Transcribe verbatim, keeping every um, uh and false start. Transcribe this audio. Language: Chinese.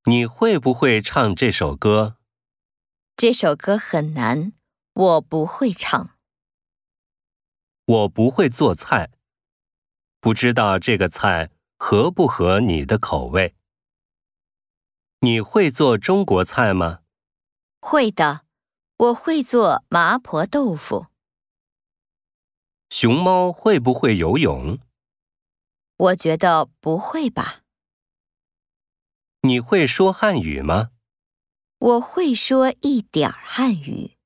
你会不会唱这首歌？ 这首歌很难，我不会唱。 我不会做菜，不知道这个菜合不合你的口味。你会做中国菜吗？ 会的，我会做麻婆豆腐。 熊猫会不会游泳？ 我觉得不会吧。 你会说汉语吗？ 我会说一点儿汉语。